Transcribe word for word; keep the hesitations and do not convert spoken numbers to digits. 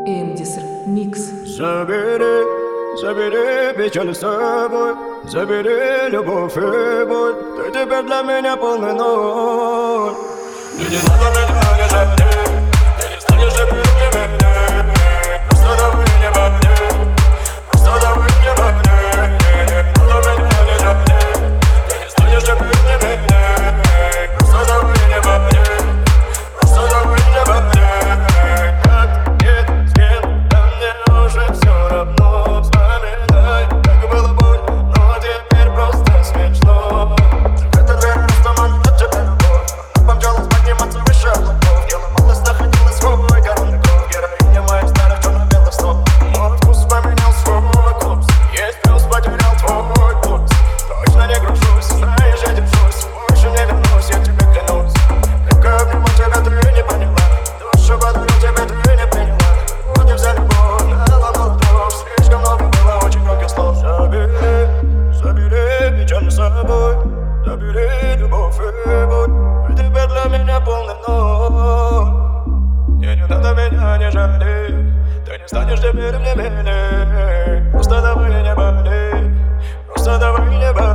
Эмдиср Микс. Забери, забери печаль с собой, забери любовь и боль. Ты теперь для меня полный ноль. Ты не надо меня не жалеть, ты не станешь теперь для меня. Просто давай не во мне, просто давай не во мне. Не надо меня не жалеть, ты не станешь теперь для меня. Просто давай не во мне, просто давай не во мне. Забери любовь и боль, ты теперь для меня полный ноль. Мне не надо меня не жалеть, ты не станешь теперь мне милей. Просто давай не болей, просто давай не болей.